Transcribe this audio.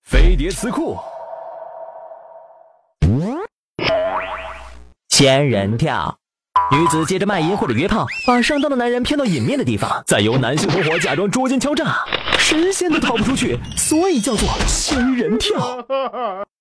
飞碟词库。 仙人跳，女子借着卖淫或者约炮，把上当的男人骗到隐秘的地方，再由男性同伙假装捉奸敲诈，神仙都逃不出去，所以叫做仙人跳。